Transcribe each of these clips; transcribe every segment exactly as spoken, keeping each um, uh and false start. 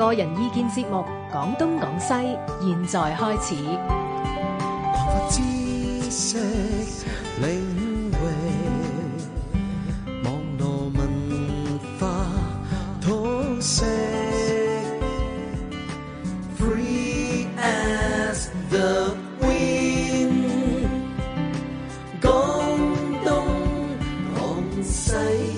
個人意見節目《講東講西》，現在開始。 擴闊知識領域，網絡文化通識 ，Free as the wind， 講東講西。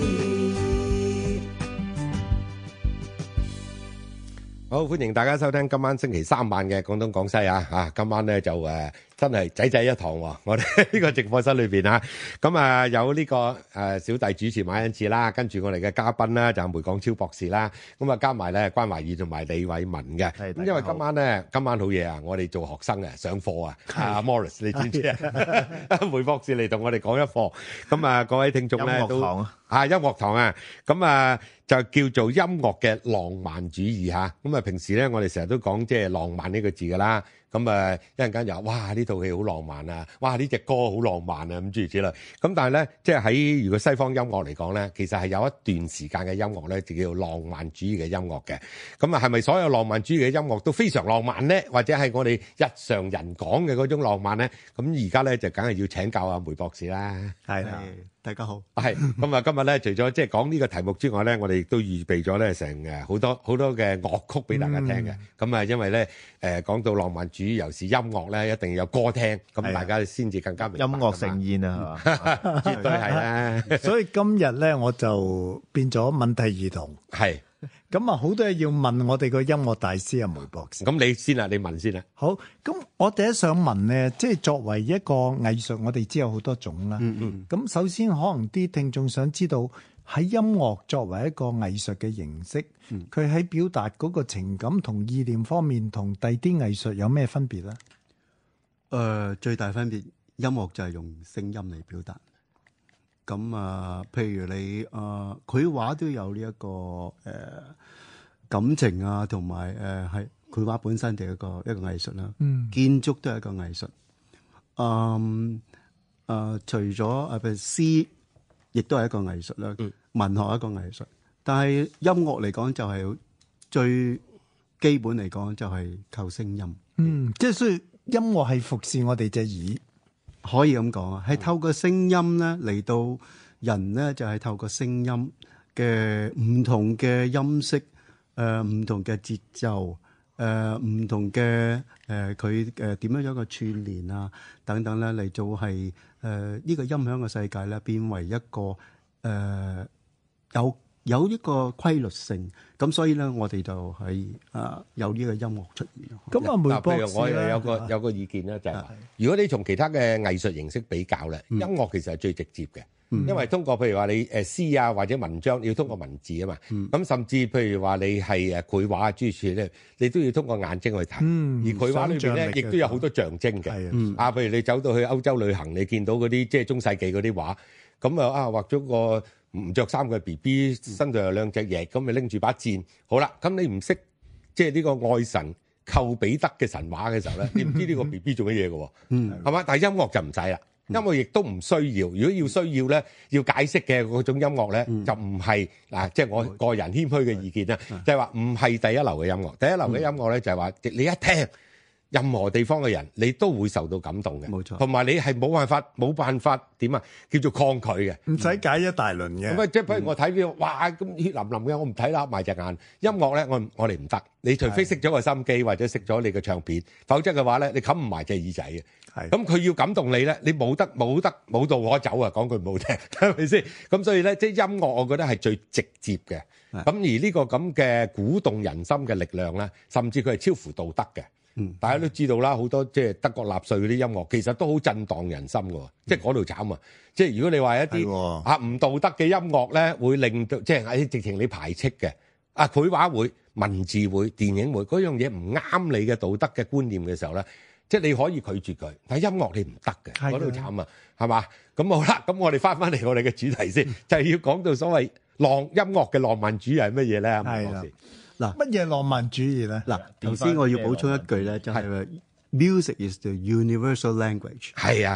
好，歡迎大家收聽今晚星期三晚嘅廣東廣西啊！啊，今晚咧就誒、呃、真係仔仔一堂喎，我哋呢個直播室裏邊啊，咁啊有呢、這個誒、呃、小弟主持馬恩賜啦，跟住我哋嘅嘉賓啦就係梅廣超博士啦，咁啊加埋咧關懷義同埋李偉文嘅。咁因為今晚咧今晚好嘢啊，我哋做學生啊上課啊，阿 Morris 你知唔知啊？梅博士嚟同我哋講一課，咁啊各位聽眾咧都啊音樂堂啊，咁啊。就叫做音樂嘅浪漫主義嚇，咁啊平時咧我哋成日都講即係浪漫呢個字噶啦，咁啊一陣間又話哇呢套戲好浪漫啊，哇呢隻歌好浪漫啊咁諸如此類，咁但係咧即係喺如果西方音樂嚟講咧，其實係有一段時間嘅音樂咧就叫做浪漫主義嘅音樂嘅，咁啊係咪所有浪漫主義嘅音樂都非常浪漫咧？或者係我哋日常人講嘅嗰種浪漫咧？咁而家咧就梗係要請教阿梅博士啦。 係啊，大家好。 係咁啊，今日咧除咗即係講呢個題目之外咧，我哋亦都預備咗咧成誒好多好多嘅樂曲俾大家聽嘅。咁啊、嗯，因為咧誒講到浪漫主義，尤其是音樂咧，一定要有歌聽，咁大家先至更加明白。 音樂盛宴啊，係嘛？ 絕對係啦。 所以今日咧，我就變咗問題兒童。 係。 咁啊，好多嘢要問我哋個音樂大師啊，梅博士。 咁你先啦，你問先啦。 好，咁我第一想問咧，即係作為一個藝術，我哋知有好多種啦。嗯嗯。咁首先可能啲聽眾想知道喺音樂作為一個藝術嘅形式，佢喺、嗯、表達嗰個情感同意念方面，同第啲藝術有咩分別咧？誒、 呃，最大分別，音樂就係用聲音嚟表達。咁啊，譬如你啊，繪畫都有呢、這、一個誒、呃、感情啊，同埋誒係繪畫本身就係一個一個藝術啦。嗯，建築都係一個藝術。嗯，啊、呃，除咗啊，譬如詩，亦都係一個藝術啦。嗯、文學係一個藝術，但係音樂嚟講就係最基本嚟講就係靠聲音。 嗯，即係所以音樂係服侍我哋隻耳。 可以咁講啊，係透過聲音咧嚟到人咧，就係透過聲音嘅唔同嘅音色，誒唔同嘅節奏，誒唔同嘅誒佢誒點樣樣嘅串聯啊等等咧，嚟到係誒呢個音響嘅世界咧，變為一個誒有有一個規律性，咁所以咧我哋就係啊有呢個音樂出現。 咁啊，梅博士咧， 譬如我又有個有個意見咧，就係話，如果你從其他嘅藝術形式比較咧，音樂其實係最直接嘅，因為通過譬如話你誒詩啊或者文章，你要通過文字啊嘛，咁甚至譬如話你係誒繪畫啊諸如此類咧，你都要通過眼睛去睇，而繪畫裏邊咧亦都有好多象徵嘅，啊，譬如你走到去歐洲旅行，你見到嗰啲即係中世紀嗰啲畫，咁啊啊畫咗個唔着衫嘅 B B， 身度有兩隻翼，咁咪拎住把箭。好啦，咁你唔識即係呢個愛神寇彼得嘅神話嘅時候咧，你唔知呢個 B B 做乜嘢嘅，係嘛？但係音樂就唔使啦，音樂亦都唔需要。如果要需要咧，要解釋嘅嗰種音樂咧，就唔係嗱，即係我個人謙虛嘅意見啦，就係話唔係第一流嘅音樂。第一流嘅音樂咧就係話你一聽。任何地方嘅人，你都會受到感動嘅，冇錯。同埋你係冇辦法冇辦法點啊？叫做抗拒嘅， 唔使解一大輪嘅。 咁啊，即係譬如我睇呢個，哇咁血淋淋嘅，我唔睇啦，埋隻眼。音樂咧，我我哋唔得。你除非熄咗個心機或者熄咗你嘅唱片，否則嘅話咧，你冚唔埋隻耳仔嘅。係。咁佢要感動你咧，你冇得冇得冇道可走啊！講句唔好聽，係咪先？咁所以咧，即係音樂，我覺得係最直接嘅。咁而呢個咁嘅鼓動人心嘅力量咧，甚至佢係超乎道德嘅。嗯，大家都知道啦，好多即係德國納粹嗰啲音樂，其實都好震盪人心嘅，即係嗰度慘啊！即係如果你話一啲啊唔道德嘅音樂咧，會令到即係喺直情你排斥嘅啊，繪畫會、文字會、電影會嗰樣嘢唔啱你嘅道德嘅觀念嘅時候咧，即係你可以拒絕佢，但係音樂你唔得嘅，嗰度慘啊，係嘛？咁好啦，咁我哋翻返嚟我哋嘅主題先，就係要講到所謂浪音樂嘅浪漫主義係乜嘢咧？係啦。 嗱，乜嘢浪漫主義咧？ 嗱，頭先我要補充一句咧，就係 music is the universal language。 係啊，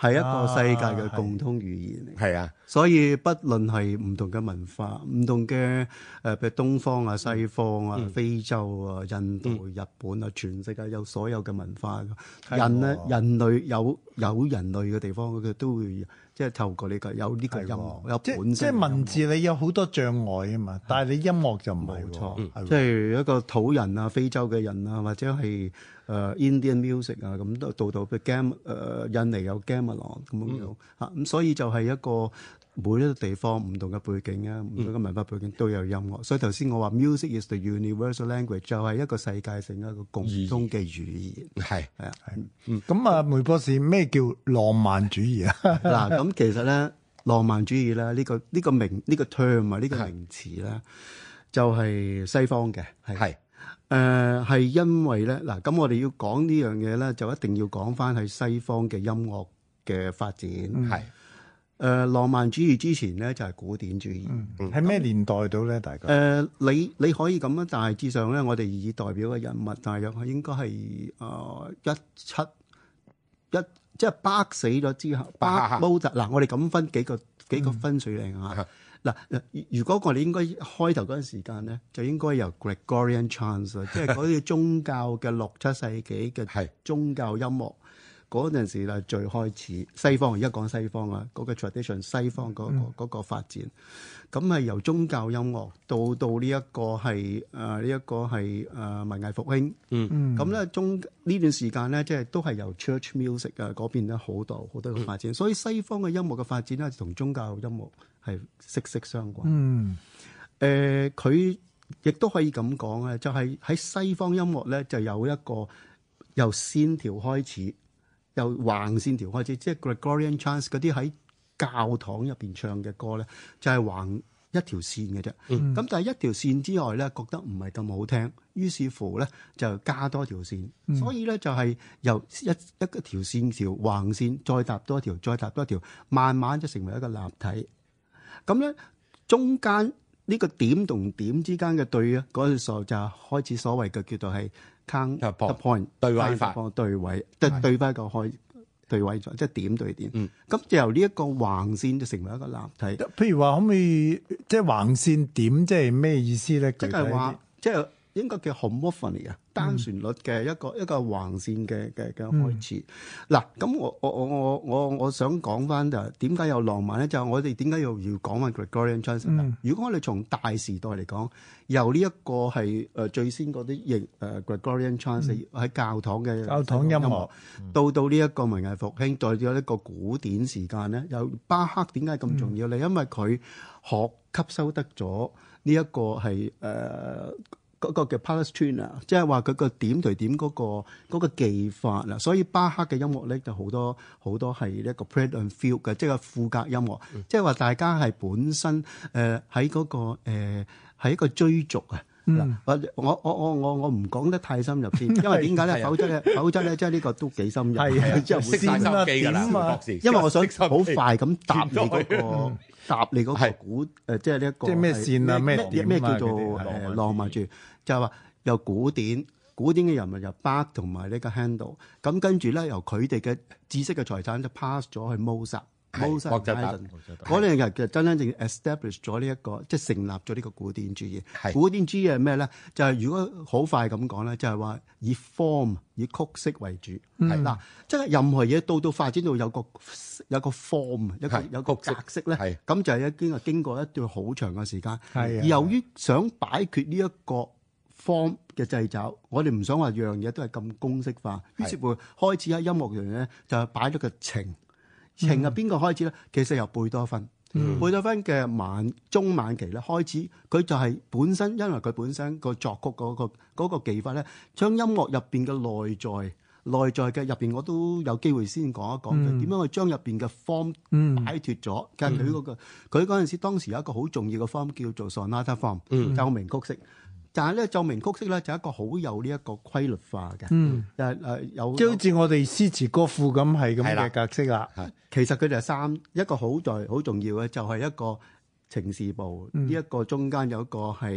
係一個世界嘅共通語言嚟。 係啊， 所以不論係唔同嘅文化、唔同嘅誒，譬如東方啊、西方啊、 嗯非洲啊、印度、日本啊，全世界有所有嘅文化。 係人咧， 喎人類有有人類嘅地方，佢都會即係透過呢個有呢個音樂，有即本身即係文字你有好多障礙啊嘛，但係你音樂就唔係喎冇錯， 係喎即係一個土人啊、非洲嘅人啊，或者係誒、呃、Indian music 啊，咁都到到嘅 gam 誒印尼有 gamelan 咁樣樣嚇，咁所以就係一個每一個地方唔同嘅背景啊，唔同嘅文化背景都有音樂。所以頭先我話 music is the universal language 就係一個世界性一個共通嘅語言。 係係啊， 咁啊，梅博士咩叫浪漫主義啊？ 嗱咁其實咧，浪漫主義咧呢、呢個呢、呢個名呢、呢個 term 啊呢個名詞咧，就係西方嘅係。 係誒係因為咧嗱，咁我哋要講呢樣嘢咧，就一定要講翻喺西方嘅音樂嘅發展。 係誒浪漫主義之前咧就係古典主義。 喺咩年代到咧？大概誒你你可以咁樣，大致上咧，我哋以代表嘅人物，大約係應該係誒一七一，即係巴死咗之後，巴巴毛澤嗱，我哋咁分幾個幾個分水嶺啊。嗱，如果我哋應該開頭嗰陣時間咧，就應該由 Gregorian chants 即係嗰啲宗教嘅六七世紀嘅宗教音樂嗰陣時咧，最開始西方而家講西方啊，嗰個 tradition 西方嗰個嗰個發展，咁係由宗教音樂到到呢一個係誒呢一個係誒文藝復興。 嗯咁咧中呢段時間咧，即係都係由 church music 啊嗰邊咧好多好多嘅發展，所以西方嘅音樂嘅發展咧，同宗教音樂係息息相關。 嗯誒，佢亦都可以咁講咧，就係喺西方音樂咧，就有一個由線條開始，由橫線條開始，即係 Gregorian chants 嗰啲喺教堂入邊唱嘅歌咧，就係橫一條線嘅啫。咁、 嗯但係一條線之外咧，覺得唔係咁好聽，於是乎咧就加多條線。 嗯所以咧就係由一一個條線條橫線，再搭多一條，再搭多一條，慢慢就成為一個立體。咁咧中間呢個點同點之間嘅對啊，嗰陣時候就開始所謂嘅叫做係 count point 對位法， 對位，即係對翻一個開對位咗，即係點對點。 嗯， 咁就由呢一個橫線就成為一個立體。 譬如話可唔可以即係橫線點，即係咩意思咧？ 即係話，即係應該叫 homophony 啊，單旋律嘅一個、嗯、一個橫線嘅嘅嘅開始。嗱、嗯，咁我我我我我我想講翻就係點解有浪漫咧？就係、我哋點解要要講翻 Gregorian chants、嗯、如果我哋從大時代嚟講，由呢一個係誒最先嗰啲型誒 Gregorian chants 喺、嗯、教堂嘅教堂音樂， 到到呢一個文藝復興，到咗一個古典時間咧，有巴赫點解咁重要咧？嗯、因為佢學吸收得咗呢一個係誒。呃嗰個叫 Palestrina，即係話佢個點對點嗰、嗰個嗰個技法啦，所以巴赫嘅音樂咧就好多好多係一個 Prelude and Fugue 嘅，即係個賦格音樂，嗯、即係話大家係本身誒喺嗰個誒係、呃、一個追逐啊。嗱、嗯，我我我我我我唔講得太深入先，因為點解咧？否則咧，否則咧，即係呢個都幾深入， 係啊， 即係識晒心機㗎啦，博士。 因為我想好快咁答你嗰、嗰個。答你嗰個古誒、呃，即係呢一個即係咩線啊？咩咩咩叫做誒浪漫主義？就係話由古典古典嘅人物由 Bach 同埋呢個 Handel， 咁跟住咧由佢哋嘅知識嘅財產就 pass 咗去 Mozart。Mozart 嗰兩日其實真真正 establish 咗呢一個，即係成立咗呢個古典主義。古典主義係咩咧？就係、是、如果好快咁講咧，就係、是、話以 form 以曲式為主。係嗱、嗯，即係任何嘢到到發展到有個有個 form， 一個有個格式咧，咁就係已經係經過一段好長嘅時間。而由於想擺脫呢一個 form 嘅掣肘，我哋唔想話樣嘢都係咁公式化，於是乎開始喺音樂上咧就係擺咗個情。情係邊個開始咧？其實由貝多芬，嗯、貝多芬嘅晚中晚期咧開始，佢就係本身因為佢本身個作曲嗰、嗰個嗰個技法咧，將音樂入邊嘅內在內在嘅入邊，我都有機會先講一講嘅點樣去將入邊嘅 form 擺脫咗。其實佢嗰個佢嗰陣時當時有一個好重要嘅 form 叫做 sonata form，嗯、奏鳴曲式。但係咧奏鳴曲式咧就係一個好有呢一個規律化嘅，嗯，就係誒有即係好似我哋詩詞歌賦咁係咁嘅格式啦。 其實佢哋係三一個好在好重要嘅就係一個情事部，呢一、嗯、個中間有一個係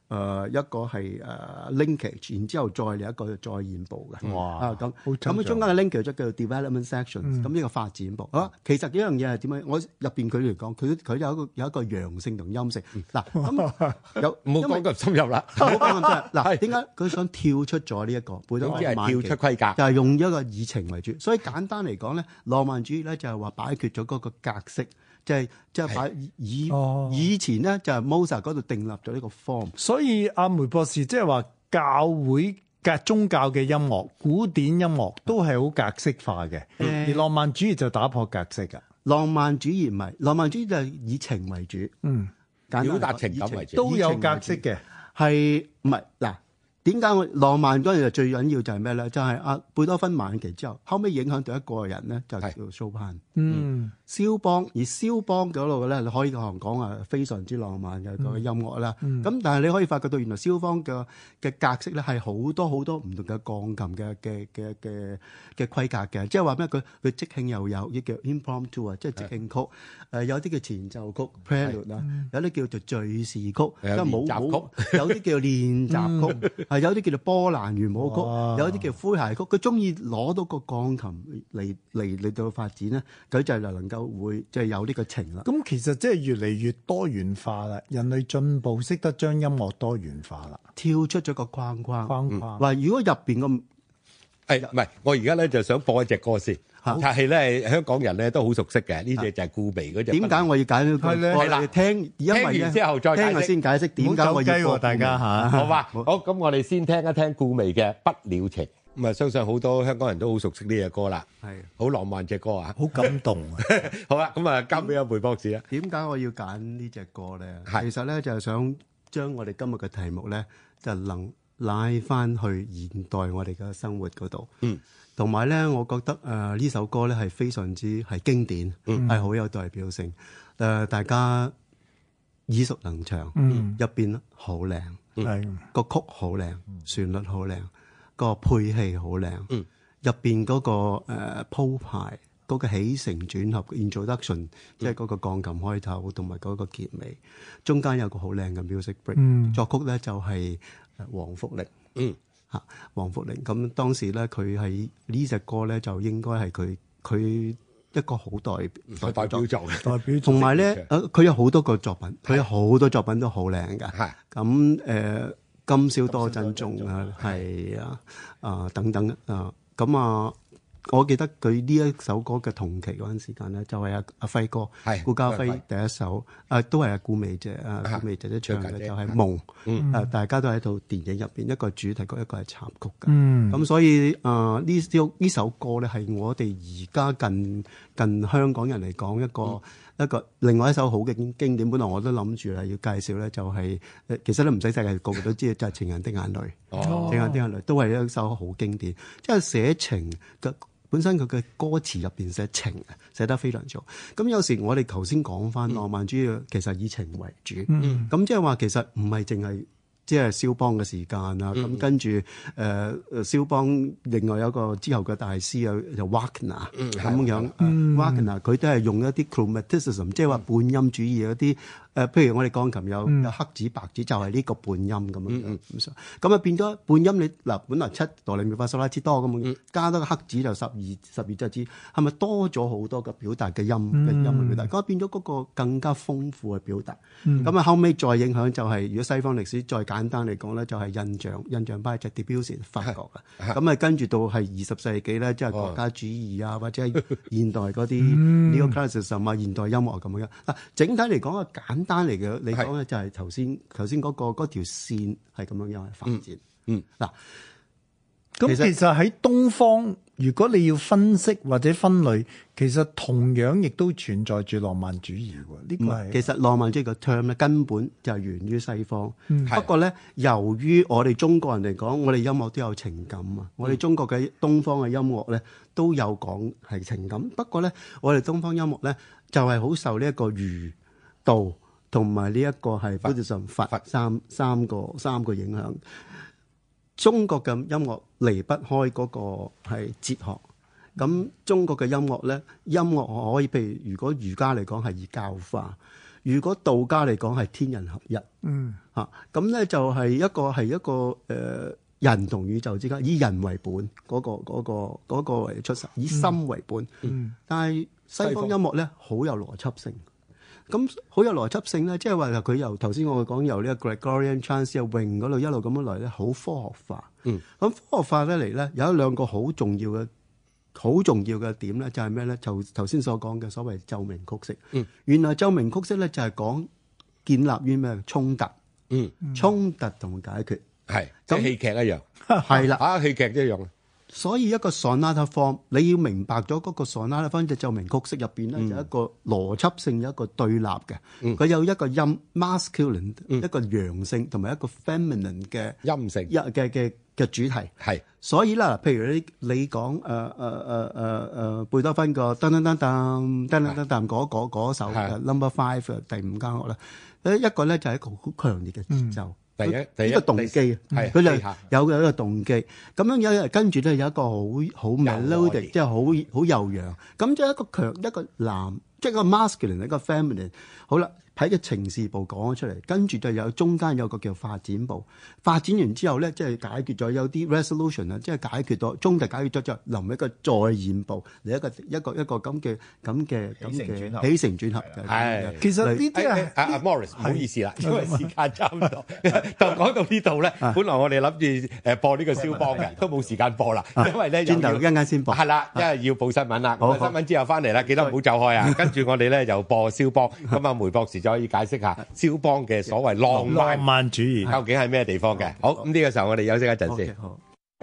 誒一個係誒 linkage，然之後再嚟一個再現部嘅。 哇啊咁好抽象咁中間嘅 linkage 就叫做 development section，咁呢個發展部。啊，其實呢樣嘢係點樣？我入邊佢嚟講，佢佢有一個有一個陽性同陰性。嗱咁有唔好講咁深入啦， 唔好講咁深入。嗱，點解佢想跳出咗呢一個？貝多總之係芬晚期跳出規格。 就係用一個以情為主，所以簡單嚟講咧，浪漫主義咧就係話擺脫咗嗰個格式，即係即係擺以哦以前咧就係 Mozart 嗰度訂立咗呢個 form。 所以阿梅博士即係話教會嘅宗教嘅音樂、古典音樂都係好格式化嘅， 嗯而浪漫主義就打破格式㗎。 浪漫主義唔係，浪漫主義就係以情為主， 嗯， 簡單嚟講表達情感為主都有格式嘅。 係唔係嗱？點解我浪漫嗰陣就最緊要就係咩咧？就係、是、阿貝多芬晚期之後，後尾影響到一個人咧，就叫蘇潘。 嗯， 肖邦，而肖邦嗰度咧，你可以講講啊，非常之浪漫嘅個音樂啦。咁、 嗯、 但係你可以發覺到，原來肖邦嘅嘅格式咧係好多好多唔同嘅鋼琴嘅嘅嘅嘅嘅規格嘅，即係話咩？佢佢即興又有，亦叫 impromptu 啊，即係即興曲。誒有啲叫前奏曲 prelude 啦，有啲叫做敘事曲，即係冇冇，有啲叫練習曲，係有啲叫做波蘭圓舞曲，有啲叫詼諧曲。佢中意攞到個鋼琴嚟嚟嚟到發展咧，佢就係能夠會即係有呢個情啦。 咁其實即係越嚟越多元化啦，人類進步識得將音樂多元化啦， 跳出咗個框框。 框框。 話如果入邊個誒唔係，我而家咧就想播一隻歌先，但係咧香港人咧都好熟悉嘅，呢隻就係顧眉嗰隻。 點解我要揀呢個係咧歌係啦嚟聽？因為聽咧完之後再解釋聽下先解釋點解我唔好走雞喎要播大家嚇好嘛？好，咁我哋先聽一聽顧眉嘅《不了情》。咁啊，相信好多香港人都好熟悉呢隻歌啦， 係好浪漫隻歌啊！ 好感動啊！ 好啦，咁啊，交俾阿梅博士啦。 點解我要揀呢隻歌咧？ 係其實咧就係想將我哋今日嘅題目咧，就能拉翻去現代我哋嘅生活嗰度。 嗯， 同埋咧，我覺得誒呢、呃、首歌咧係非常之係經典，係好、嗯、有代表性。誒、呃，大家耳熟能詳， 嗯入邊好靚， 係個曲好靚，旋律好靚，個配器好靚， 嗯入邊嗰個誒、呃、鋪排。嗰個起承轉合 introduction，即係嗰個鋼琴開頭同埋嗰個結尾，中間有個好靚嘅 music break、嗯。作曲咧就係黃福玲， 嗯嚇黃福玲。咁當時咧佢喺呢隻歌咧就應該係佢佢一個好代代表作嘅代表作。 同埋咧，誒佢有好多個作品，佢有好多作品都好靚㗎。 係咁誒，今宵多珍重啊，係啊啊等等啊，咁啊。我記得佢呢一首歌嘅同期嗰陣時間咧，就係阿阿輝哥， 係顧嘉輝第一首，誒都係阿顧媚姐，啊顧媚姐姐唱嘅就係《夢》，誒大家都喺套電影入邊，一個主題曲，一個係插曲嘅。 嗯， 咁所以誒呢首呢首歌咧，係我哋而家近近香港人嚟講一個一個另外一首好嘅經典。本來我都諗住係要介紹咧，就係誒其實都唔使世界個個都知，就係《情人的眼淚》。哦，《情人的眼淚》都係一首好經典，即係寫情嘅。本身佢嘅歌詞入邊寫情啊，寫得非常之好。咁有時我哋頭先講翻浪漫主義，其實以情為主。咁、嗯、即係話其實唔係淨係即係肖邦嘅時間啊。咁、嗯、跟住誒誒肖邦另外有一個之後嘅大師啊，就 Wagner 咁樣。Wagner 佢都係用一啲 Chromaticism，即係話半音主義嗰啲。誒，譬如我哋鋼琴有有黑指白指，就係呢個半音咁樣樣咁上，咁啊變咗半音你嗱，本來七哆唻咪發嗦拉之多咁樣，加多個黑指就十二十二隻指，係咪多咗好多嘅表達嘅音嘅音嘅表達？咁變咗嗰個更加豐富嘅表達。咁啊後尾再影響就係，如果西方歷史再簡單嚟講咧，就係印象印象派就 Debussy 法國嘅。咁啊跟住到係二十世紀咧，即係國家主義啊，或者係現代嗰啲 Neo-Classicism 啊，現代音樂咁樣。嗱，整體嚟講啊簡單嚟嘅，你講咧就係頭先頭先嗰個嗰條線係咁樣樣發展。嗯，嗱、嗯， 咁其實喺東方，如果你要分析或者分類，其實同樣亦都存在住浪漫主義喎。呢、這個係其實浪漫主義個 term 咧根本就係源於西方。 嗯、 不過咧，由於我哋中國人嚟講，我哋音樂都有情感啊。嗯、我哋中國嘅東方嘅音樂咧都有講係情感。不過咧，我哋東方音樂咧就係好受呢一個儒道同埋呢一個係 Buddhism 佛三三個三個影響。中國嘅音樂離不開嗰個係哲學。咁中國嘅音樂咧，音樂可以譬如如果儒家嚟講係以教化， 如果道家嚟講係天人合一， 嗯嚇咁咧就係一個係一個誒、呃、人同宇宙之間以人為本嗰、嗰個嗰、嗰個嗰、嗰個為出世，以心為本。 嗯， 但係西方音樂咧好有邏輯性。咁好有邏輯性咧，即係話佢由頭先我講由呢個 Gregorian chant 啊詠嗰度一路咁樣嚟咧，好科學化。 嗯， 咁科學化咧嚟咧，有一兩個好重要嘅好重要嘅點咧，就係咩咧？就頭先所講嘅所謂奏鳴曲式。 嗯， 原來奏鳴曲式咧就係講建立於咩衝突。 嗯， 衝突同解決係即係戲劇一樣， 係啦。 啊戲劇一樣。 所以一個 sonata form，你要明白咗嗰個 sonata form 隻奏鳴曲式入邊咧，就一個邏輯性有一個對立嘅。佢、嗯、有一個音 masculine、嗯、一個陽性同埋一個 feminine 嘅陰性一嘅嘅嘅主題。係，所以啦，譬如你你講誒誒誒誒誒貝多芬個噔噔噔噔噔噔噔噔嗰嗰嗰首 number five 第五間樂啦，誒一個咧就係一個好強烈嘅節奏。嗯第一，第一個動機， 係佢就有嘅一個動機。咁樣有跟住咧有一個好好 melodic，即係好好悠揚。咁即係一個強一個男，即係一個 masculine 一個 feminine。好啦，喺個情事部講咗出嚟，跟住就有中間有個叫發展部。發展完之後咧，即係解決咗有啲 resolution 啊，即係解決咗中題解決咗之後，臨一個再現部嚟一個一個一個咁嘅咁嘅咁嘅起承轉合嘅。 係， 其實呢啲係阿阿 Morris 唔好意思啦，因為時間差唔多，就講到呢度咧。本來我哋諗住誒播呢個肖邦嘅，都冇時間播啦，因為咧轉頭一陣間先播。係啦，因為要報新聞啦。新聞之後翻嚟啦，記得唔好走開啊。跟住我哋咧就播肖邦。咁啊，梅博士就可以解釋下肖邦嘅所謂浪漫浪漫主義究竟係咩地方嘅？好，咁呢個時候我哋休息一陣先。 好。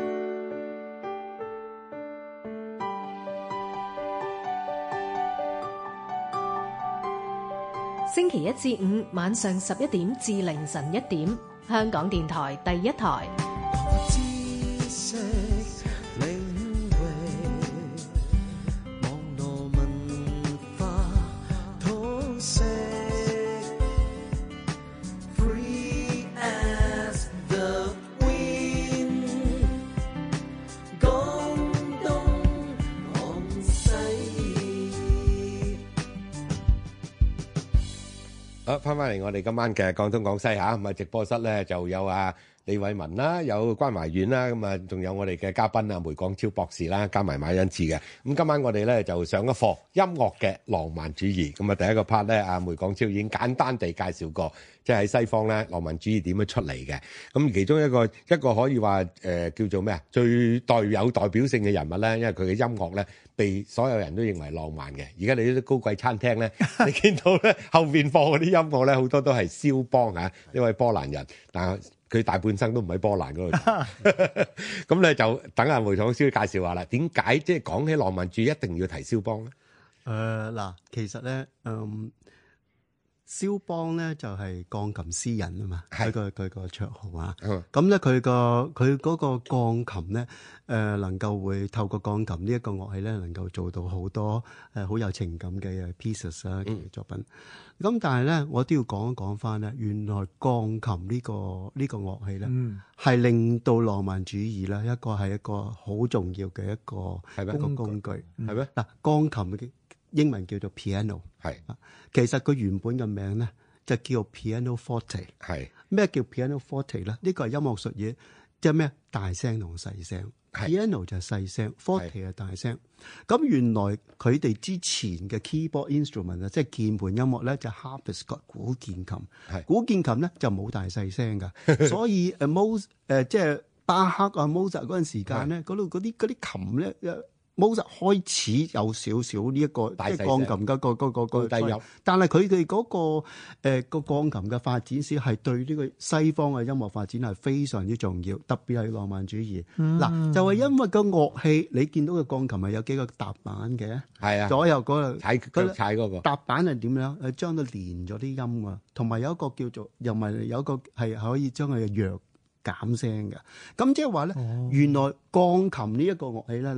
星期一至五晚上十一點至凌晨一點，香港電台第一台。 好，翻返嚟我哋今晚嘅廣東廣西嚇，咁啊直播室咧就有啊李偉文啦，有關懷遠啦，咁啊仲有我哋嘅嘉賓啊梅廣超博士啦，加埋馬恩賜嘅。咁今晚我哋咧就上一課音樂嘅浪漫主義。咁啊第一個 part 咧，阿梅廣超已經簡單地介紹過，即係喺西方咧浪漫主義點樣出嚟嘅。咁其中一個一個可以話誒、呃、叫做咩啊，最代有代表性嘅人物咧，因為佢嘅音樂咧被所有人都認為浪漫嘅。而家你啲高貴餐廳咧，你見到咧後邊放嗰啲音樂咧，好多都係肖邦啊，呢位波蘭人，但係佢大半生都唔喺波蘭嗰度。咁咧就等阿梅廣超介紹下啦。點解即係講起浪漫主義一定要提肖邦咧？ 誒嗱、呃，其實咧，嗯。肖邦咧就係鋼琴詩人啊嘛，佢個佢個綽號啊。咁咧佢個佢嗰個鋼琴咧，誒、呃、能夠會透過鋼琴呢一個樂器咧，能夠做到好多誒好、呃、有情感嘅 pieces 啊嘅作品。咁、嗯、但係咧，我都要講一講翻咧，原來鋼琴呢、這個呢、這個樂器咧，係、嗯、令到浪漫主義咧一個係一個好重要嘅一個係咩一個工具係咩？嗱，鋼琴嘅英文叫做 piano， 係啊，其實佢原本嘅名咧就叫 piano forte， 係咩叫 piano forte 咧？呢個係音樂術語，即係咩大聲同細聲 ，piano 就係細聲 ，forte 係大聲。咁原來佢哋之前嘅 keyboard instrument 啊，即係鍵盤音樂咧就 harpsichord 古鍵琴，古鍵琴咧就冇大細聲噶，所以誒 Mozart 誒即係巴赫啊 Mozart 嗰陣時間咧，嗰度嗰啲嗰啲琴咧。Mozart 開始有少少呢一個即係鋼琴嘅個嗰個個低音，但係佢哋嗰個誒個鋼琴嘅發展史係對呢個西方嘅音樂發展係非常之重要，特別係浪漫主義。嗱、嗯，就係、是、因為個樂器，你見到嘅鋼琴係有幾個踏板嘅，係啊，左右嗰個踩腳踩嗰個踏板係點樣？係將佢連咗啲音啊，同埋有一個叫做又唔係有一個係可以將佢嘅弱減聲嘅。咁即係話咧，哦、原來鋼琴呢一個樂器咧。